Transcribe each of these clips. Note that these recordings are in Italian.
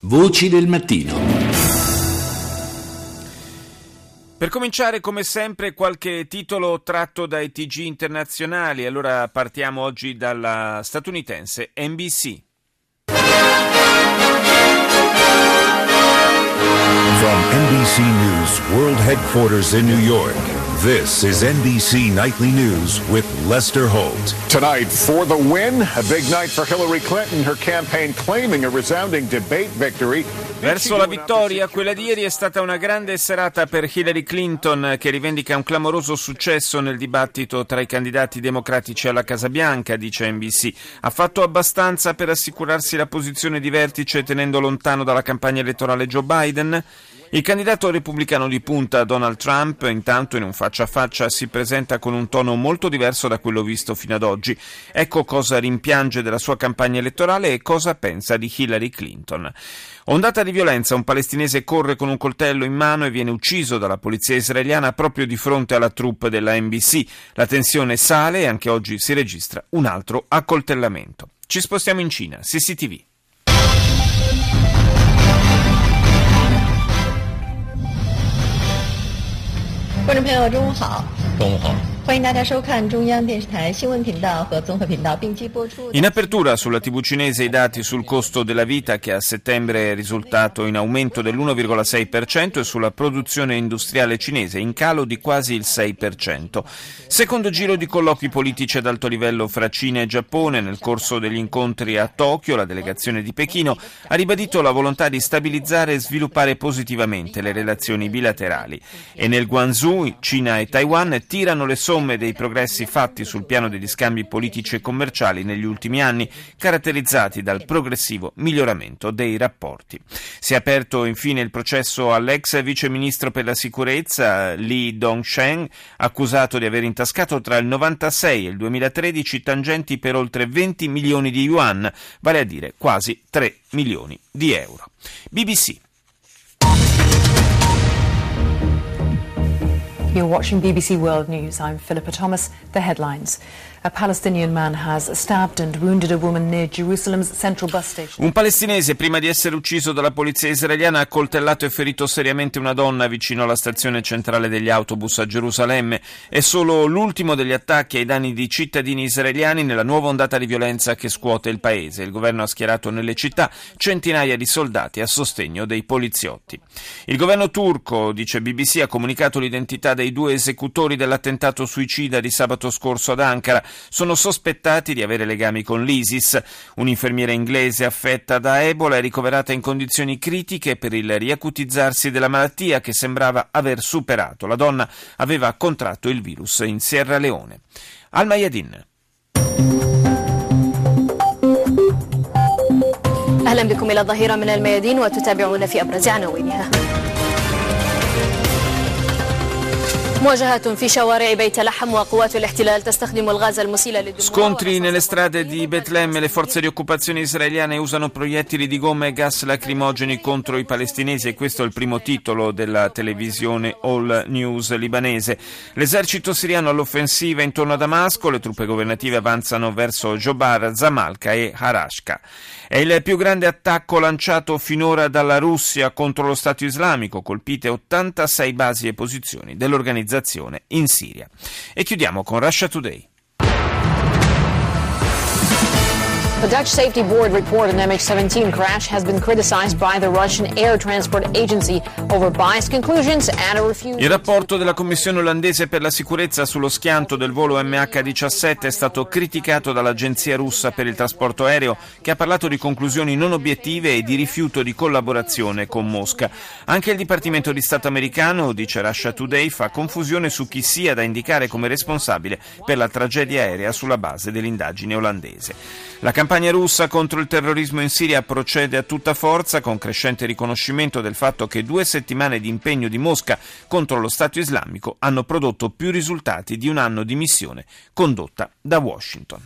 Voci del mattino. Per cominciare, come sempre, qualche titolo tratto dai TG internazionali. Allora partiamo oggi dalla statunitense NBC. From NBC News World Headquarters in New York, this is NBC Nightly News with Lester Holt. Tonight, for the win, a big night for Hillary Clinton, her campaign claiming a resounding debate victory. Verso la vittoria, quella di ieri è stata una grande serata per Hillary Clinton, che rivendica un clamoroso successo nel dibattito tra i candidati democratici alla Casa Bianca, dice NBC. Ha fatto abbastanza per assicurarsi la posizione di vertice tenendo lontano dalla campagna elettorale Joe Biden? Il candidato repubblicano di punta, Donald Trump, intanto in un faccia a faccia si presenta con un tono molto diverso da quello visto fino ad oggi. Ecco cosa rimpiange della sua campagna elettorale e cosa pensa di Hillary Clinton. Ondata di violenza, un palestinese corre con un coltello in mano e viene ucciso dalla polizia israeliana proprio di fronte alla troupe della NBC. La tensione sale e anche oggi si registra un altro accoltellamento. Ci spostiamo in Cina, CCTV. 观众朋友，中午好。中午好。欢迎大家收看中央电视台新闻频道和综合频道并机播出。 In apertura sulla TV cinese i dati sul costo della vita, che a settembre è risultato in aumento dell'1,6%, e sulla produzione industriale cinese in calo di quasi il 6%. Secondo giro di colloqui politici ad alto livello fra Cina e Giappone. Nel corso degli incontri a Tokyo, la delegazione di Pechino ha ribadito la volontà di stabilizzare e sviluppare positivamente le relazioni bilaterali. E nel Guangzhou, Cina e Taiwan tirano le somme dei progressi fatti sul piano degli scambi politici e commerciali negli ultimi anni, caratterizzati dal progressivo miglioramento dei rapporti. Si è aperto infine il processo all'ex viceministro per la sicurezza Li Dongsheng, accusato di aver intascato tra il 96 e il 2013 tangenti per oltre 20 milioni di yuan, vale a dire quasi 3 milioni di euro. BBC. You're watching BBC World News. I'm Philippa Thomas. The headlines. A Palestinian man has stabbed and wounded a woman near Jerusalem's central bus station. Un palestinese, prima di essere ucciso dalla polizia israeliana, ha accoltellato e ferito seriamente una donna vicino alla stazione centrale degli autobus a Gerusalemme. È solo l'ultimo degli attacchi ai danni di cittadini israeliani nella nuova ondata di violenza che scuote il paese. Il governo ha schierato nelle città centinaia di soldati a sostegno dei poliziotti. Il governo turco, dice BBC, ha comunicato l'identità dei due esecutori dell'attentato suicida di sabato scorso ad Ankara. Sono sospettati di avere legami con l'ISIS. Un'infermiera inglese affetta da Ebola è ricoverata in condizioni critiche per il riacutizzarsi della malattia che sembrava aver superato. La donna aveva contratto il virus in Sierra Leone. Al-Mayadin. أهلا بكم إلى الظهيرة من الميادين وتتابعون في أبرز عناوينها. Scontri nelle strade di Betlemme. Le forze di occupazione israeliane usano proiettili di gomma e gas lacrimogeni contro i palestinesi, e questo è il primo titolo della televisione All News libanese. L'esercito siriano all'offensiva intorno a Damasco. Le truppe governative avanzano verso Jobar, Zamalka e Harashka. È il più grande attacco lanciato finora dalla Russia contro lo Stato islamico, colpite 86 basi e posizioni dell'organizzazione in Siria. E chiudiamo con Russia Today. The Dutch Safety Board report an MH17 crash has been criticized by the Russian Air Transport Agency over biased conclusions and a refusal. Il rapporto della Commissione olandese per la sicurezza sullo schianto del volo MH17 è stato criticato dall'agenzia russa per il trasporto aereo, che ha parlato di conclusioni non obiettive e di rifiuto di collaborazione con Mosca. Anche il Dipartimento di Stato americano, dice Russia Today, fa confusione su chi sia da indicare come responsabile per la tragedia aerea sulla base dell'indagine olandese. La campagna russa contro il terrorismo in Siria procede a tutta forza, con crescente riconoscimento del fatto che 2 settimane di impegno di Mosca contro lo Stato islamico hanno prodotto più risultati di un anno di missione condotta da Washington.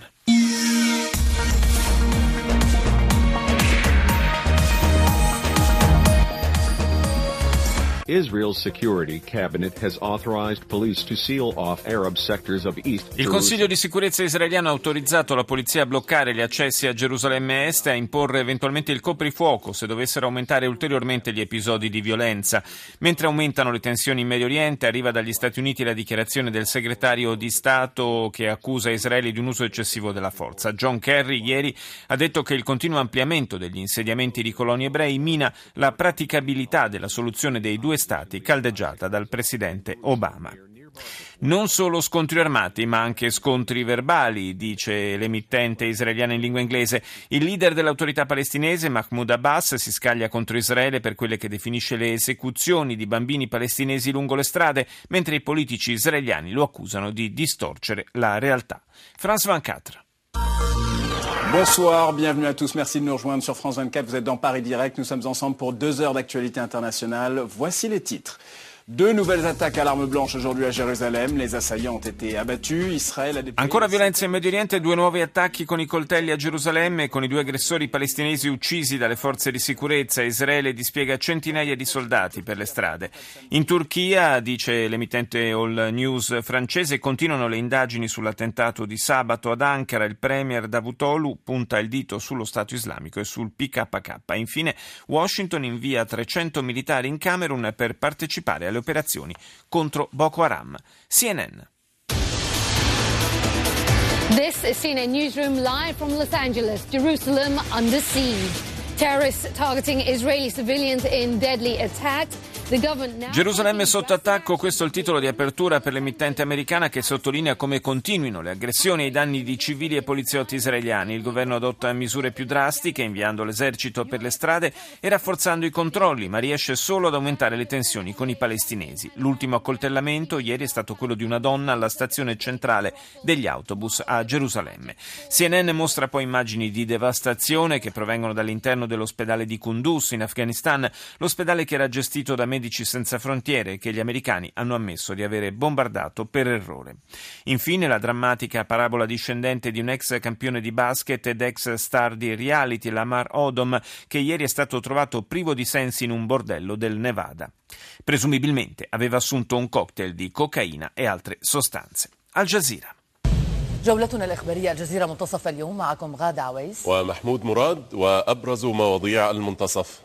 Israel's security cabinet has authorized police to seal off Arab sectors of East Jerusalem. Il Consiglio di sicurezza israeliano ha autorizzato la polizia a bloccare gli accessi a Gerusalemme Est e a imporre eventualmente il coprifuoco se dovessero aumentare ulteriormente gli episodi di violenza. Mentre aumentano le tensioni in Medio Oriente, arriva dagli Stati Uniti la dichiarazione del segretario di Stato che accusa Israele di un uso eccessivo della forza. John Kerry ieri ha detto che il continuo ampliamento degli insediamenti di coloni ebrei mina la praticabilità della soluzione dei due stati caldeggiata dal presidente Obama. Non solo scontri armati, ma anche scontri verbali, dice l'emittente israeliana in lingua inglese. Il leader dell'autorità palestinese, Mahmoud Abbas, si scaglia contro Israele per quelle che definisce le esecuzioni di bambini palestinesi lungo le strade, mentre i politici israeliani lo accusano di distorcere la realtà. France 24. Bonsoir, bienvenue à tous. Merci de nous rejoindre sur France 24. Vous êtes dans Paris Direct. Nous sommes ensemble pour 2 heures d'actualité internationale. Voici les titres. 2 nouvelles attaques à l'arme blanche aujourd'hui à Jérusalem. Les assaillants ont été abattus. Israele a déployé... Ancora violenza in Medio Oriente, 2 nuovi attacchi con i coltelli a Gerusalemme, con i 2 aggressori palestinesi uccisi dalle forze di sicurezza. Israele dispiega centinaia di soldati per le strade. In Turchia, dice l'emittente All News francese, continuano le indagini sull'attentato di sabato ad Ankara. Il premier Davutoglu punta il dito sullo Stato islamico e sul PKK. Infine, Washington invia 300 militari in Camerun per partecipare alle operazioni contro Boko Haram. CNN. This is CNN Newsroom live from Los Angeles. Jerusalem under siege. Terrorists targeting Israeli civilians in deadly attacks. Gerusalemme sotto attacco, questo è il titolo di apertura per l'emittente americana che sottolinea come continuino le aggressioni ai danni di civili e poliziotti israeliani. Il governo adotta misure più drastiche, inviando l'esercito per le strade e rafforzando i controlli, ma riesce solo ad aumentare le tensioni con i palestinesi. L'ultimo accoltellamento ieri è stato quello di una donna alla stazione centrale degli autobus a Gerusalemme. CNN mostra poi immagini di devastazione che provengono dall'interno dell'ospedale di Kunduz in Afghanistan, l'ospedale che era gestito da Medici Senza Frontiere che gli americani hanno ammesso di avere bombardato per errore. Infine la drammatica parabola discendente di un ex campione di basket ed ex star di reality, Lamar Odom, che ieri è stato trovato privo di sensi in un bordello del Nevada. Presumibilmente aveva assunto un cocktail di cocaina e altre sostanze. Al Jazeera. جولتنا الإخبارية الجزيرة منتصف اليوم معكم غادة عويس ومحمود مراد وأبرز مواضيع المنتصف.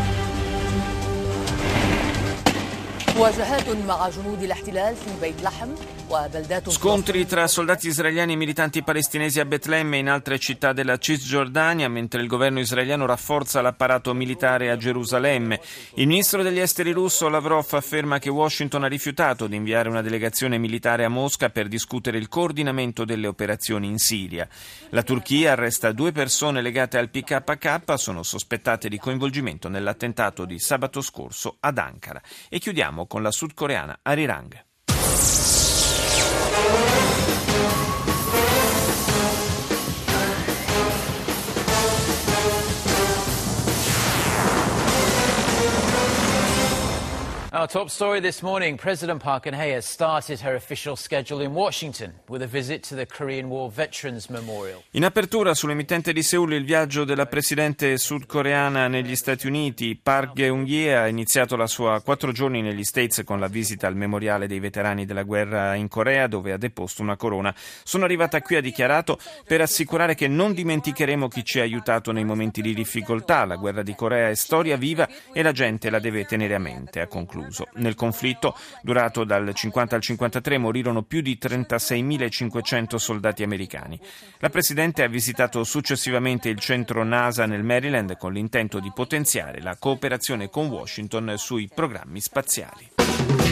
مواجهات مع جنود الاحتلال في بيت لحم وبلدات. Scontri tra soldati israeliani e militanti palestinesi a Betlemme e in altre città della Cisgiordania, mentre il governo israeliano rafforza l'apparato militare a Gerusalemme. Il ministro degli esteri russo Lavrov afferma che Washington ha rifiutato di inviare una delegazione militare a Mosca per discutere il coordinamento delle operazioni in Siria. La Turchia arresta 2 persone legate al PKK, sono sospettate di coinvolgimento nell'attentato di sabato scorso ad Ankara. E chiudiamo con la sudcoreana Arirang. Our top story this morning, President Park Geun-hye has started her official schedule in Washington with a visit to the Korean War Veterans Memorial. In apertura sull'emittente di Seul il viaggio della presidente sudcoreana negli Stati Uniti. Park Geun-hye ha iniziato la sua 4 giorni negli States con la visita al memoriale dei veterani della guerra in Corea, dove ha deposto una corona. Sono arrivata qui, ha dichiarato, per assicurare che non dimenticheremo chi ci ha aiutato nei momenti di difficoltà. La guerra di Corea è storia viva e la gente la deve tenere a mente, ha concluso. Nel conflitto, durato dal 50 al 53, morirono più di 36.500 soldati americani. La Presidente ha visitato successivamente il centro NASA nel Maryland con l'intento di potenziare la cooperazione con Washington sui programmi spaziali.